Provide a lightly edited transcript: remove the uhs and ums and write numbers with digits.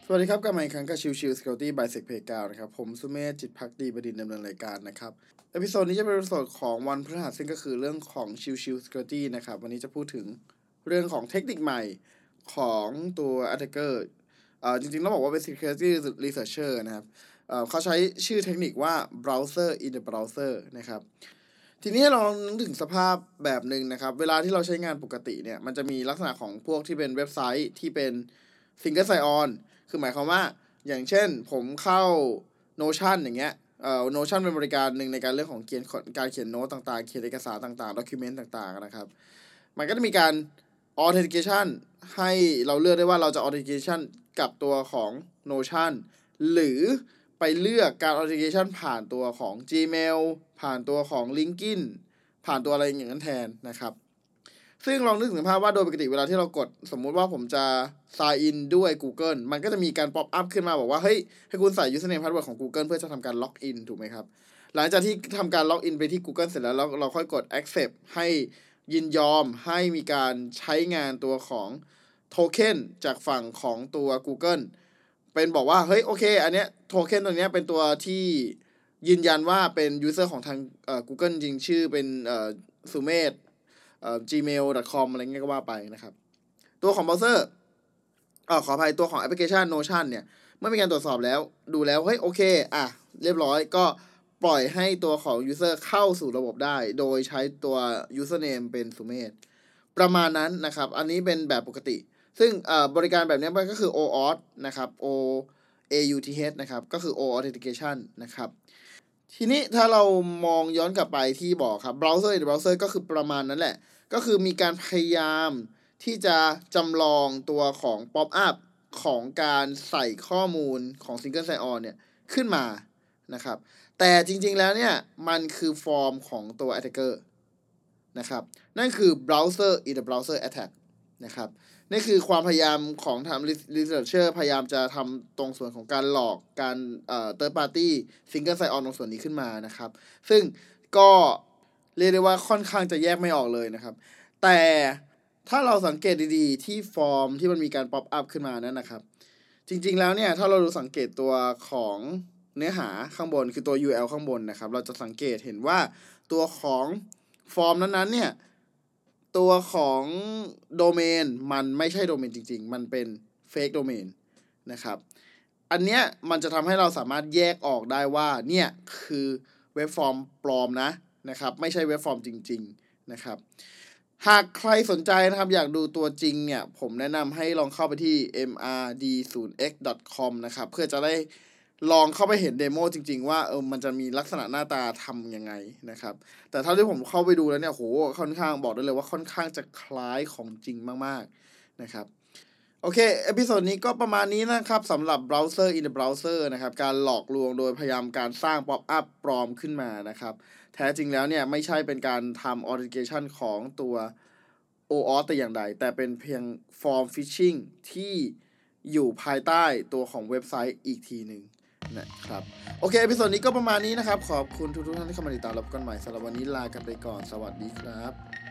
สวัสดีครับกลับมาอีกครั้งกับชิว Security by Sec Pay 9นะครับผมสุเมธจิตภักดีบดินทร์ดำเนินรายการนะครับเอพิโซดนี้จะเป็นเอพิโซดของวันพฤหัสซึ่งก็คือเรื่องของชิว Security นะครับวันนี้จะพูดถึงเรื่องของเทคนิคใหม่ของตัว attacker จริงๆต้องบอกว่าเป็น security researcher นะครับเขาใช้ชื่อเทคนิคว่า browser in the browser นะครับทีนี้เรานึกถึงสภาพแบบหนึ่งนะครับเวลาที่เราใช้งานปกติเนี่ยมันจะมีลักษณะของพวกที่เป็นเว็บไซต์ที่เป็น single sign on คือหมายความว่าอย่างเช่นผมเข้า Notion อย่างเงี้ยNotion เป็นบริการหนึ่งในการเรื่องของการเขียนโน้ตต่างๆเขียนเอกสารต่างๆ document ต่างๆนะครับมันก็จะมีการ authentication ให้เราเลือกได้ว่าเราจะ authentication กับตัวของ Notion หรือไปเลือกการ authentication ผ่านตัวของ Gmail ผ่านตัวของ LinkedIn ผ่านตัวอะไรอย่างนั้นแทนนะครับซึ่งลองนึกถึงภาพว่าโดยปกติเวลาที่เรากดสมมุติว่าผมจะ sign in ด้วย Google มันก็จะมีการ pop up ขึ้นมาบอกว่าเฮ้ยให้คุณใส่ username password ของ Google เพื่อจะทำการ log in ถูกไหมครับหลังจากที่ทำการ log in ไปที่ Google เสร็จแล้วเราค่อยกด accept ให้ยินยอมให้มีการใช้งานตัวของโทเค็นจากฝั่งของตัว Google เป็นบอกว่าเฮ้ยโอเคอันเนี้ยโทเค็นตัวเนี้ยเป็นตัวที่ยืนยันว่าเป็น user ของทางGoogle จริงชื่อเป็นสุเมธgmail.com อะไรเงี้ยก็ว่าไปนะครับตัวของเบราว์เซอร์ขออภัยตัวของแอปพลิเคชัน Notion เนี่ยเมื่อมีการตรวจสอบแล้วดูแล้วเฮ้ยโอเคเรียบร้อยก็ปล่อยให้ตัวของ user เข้าสู่ระบบได้โดยใช้ตัว username เป็นสุเมธประมาณนั้นนะครับอันนี้เป็นแบบปกติซึ่งบริการแบบนี้มันก็คือ OAuth นะครับ OAuth นะครับก็คือ O Authentication นะครับทีนี้ถ้าเรามองย้อนกลับไปที่บอกครับ browser in browser ก็คือประมาณนั้นแหละก็คือมีการพยายามที่จะจำลองตัวของ pop up ของการใส่ข้อมูลของ single sign on เนี่ยขึ้นมานะครับแต่จริงๆแล้วเนี่ยมันคือฟอร์มของตัว attacker นะครับนั่นคือ browser in the browser attack นะครับนี่คือความพยายามของทำ researcher พยายามจะทำตรงส่วนของการหลอกการthird party single sign on ตรงส่วนนี้ขึ้นมานะครับซึ่งก็เรียกได้ว่าค่อนข้างจะแยกไม่ออกเลยนะครับแต่ถ้าเราสังเกตดีๆที่ฟอร์มที่มันมีการ pop up ขึ้นมานั้นนะครับจริงๆแล้วเนี่ยถ้าเราดูสังเกตตัวของเนื้อหาข้างบนคือตัว URL ข้างบนนะครับเราจะสังเกตเห็นว่าตัวของฟอร์มนั้นๆเนี่ยตัวของโดเมนมันไม่ใช่โดเมนจริงๆมันเป็นเฟกโดเมนนะครับอันเนี้ยมันจะทำให้เราสามารถแยกออกได้ว่าเนี่ยคือเว็บฟอร์มปลอมนะครับไม่ใช่เว็บฟอร์มจริงๆนะครับหากใครสนใจนะครับอยากดูตัวจริงเนี่ยผมแนะนำให้ลองเข้าไปที่ mrd0x.com นะครับเพื่อจะได้ลองเข้าไปเห็นเดโมจริงๆว่ามันจะมีลักษณะหน้าตาทำยังไงนะครับแต่เท่าที่ผมเข้าไปดูแล้วเนี่ยโหค่อนข้างบอกได้เลยว่าค่อนข้างจะคล้ายของจริงมากๆนะครับโอเคเอพิโซดนี้ก็ประมาณนี้นะครับสำหรับ browser in the browser นะครับการหลอกลวงโดยพยายามการสร้าง pop up ปลอมขึ้นมานะครับแท้จริงแล้วเนี่ยไม่ใช่เป็นการทำ authentication ของตัว OAuth แต่อย่างใดแต่เป็นเพียง form phishing ที่อยู่ภายใต้ตัวของเว็บไซต์อีกทีหนึ่งนะครับโอเคเอพิโซดนี้ก็ประมาณนี้นะครับขอบคุณทุกท่านที่เข้ามาติดตามรับกันใหม่สำหรับวันนี้ลากันไปก่อนสวัสดีครับ